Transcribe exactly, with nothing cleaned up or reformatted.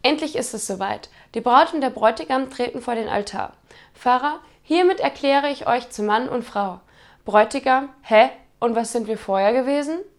Endlich ist es soweit. Die Braut und der Bräutigam treten vor den Altar. Pfarrer: Hiermit erkläre ich euch zu Mann und Frau. Bräutigam: Hä? Und was sind wir vorher gewesen?